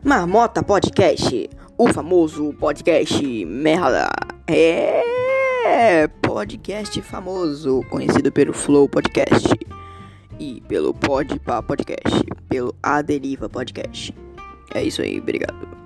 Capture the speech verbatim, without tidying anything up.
Marmota Podcast, o famoso podcast merda. É podcast famoso, conhecido pelo Flow Podcast e pelo Podpah Podcast, pelo A Deriva Podcast. É isso aí, obrigado.